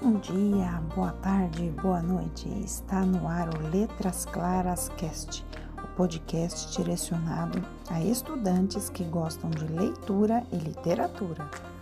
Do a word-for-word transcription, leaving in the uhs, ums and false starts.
Bom dia, boa tarde, boa noite. Está no ar o Letras Claras Cast, o podcast direcionado a estudantes que gostam de leitura e literatura.